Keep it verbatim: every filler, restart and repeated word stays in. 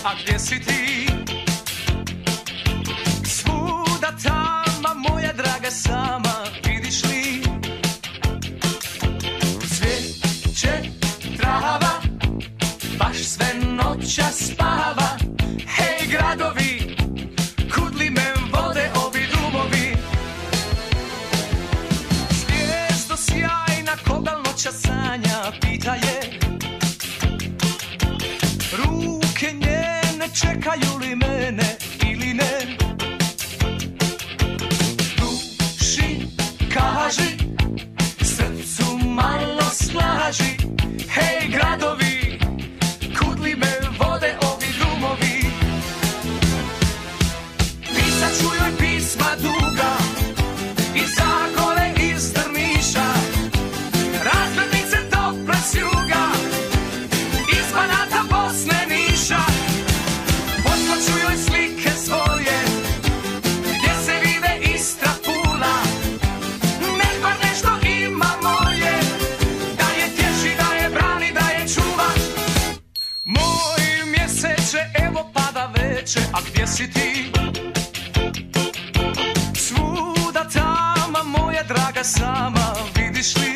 a gdje si ti? Svuda tama, moja draga sama, vidiš li? Cvijeće, trava, baš sve noća spava. Hej gradovi, kud li me vode ovi drumovi? Zvijezdo sjajna, koga noća sanja, pita je. Ruke njene čekaju li mene ili ne? Duši kaži, srcu malo slaži. Hej gradovi, kud li me vode ovi drumovi? Pisat ću joj pisma duga, iz Zagore, iz Drniša, razglednice tople s juga, iz Banata, Bosne, Niša. Poslaću joj slike svoje, gdje se vide Istra, Pula. Nek bar nešto ima moje, da je tješi, da je brani, da je čuva. Moj mjeseče, evo pada veče, a gdje si ti? Svuda tama, moja draga sama, vidiš li?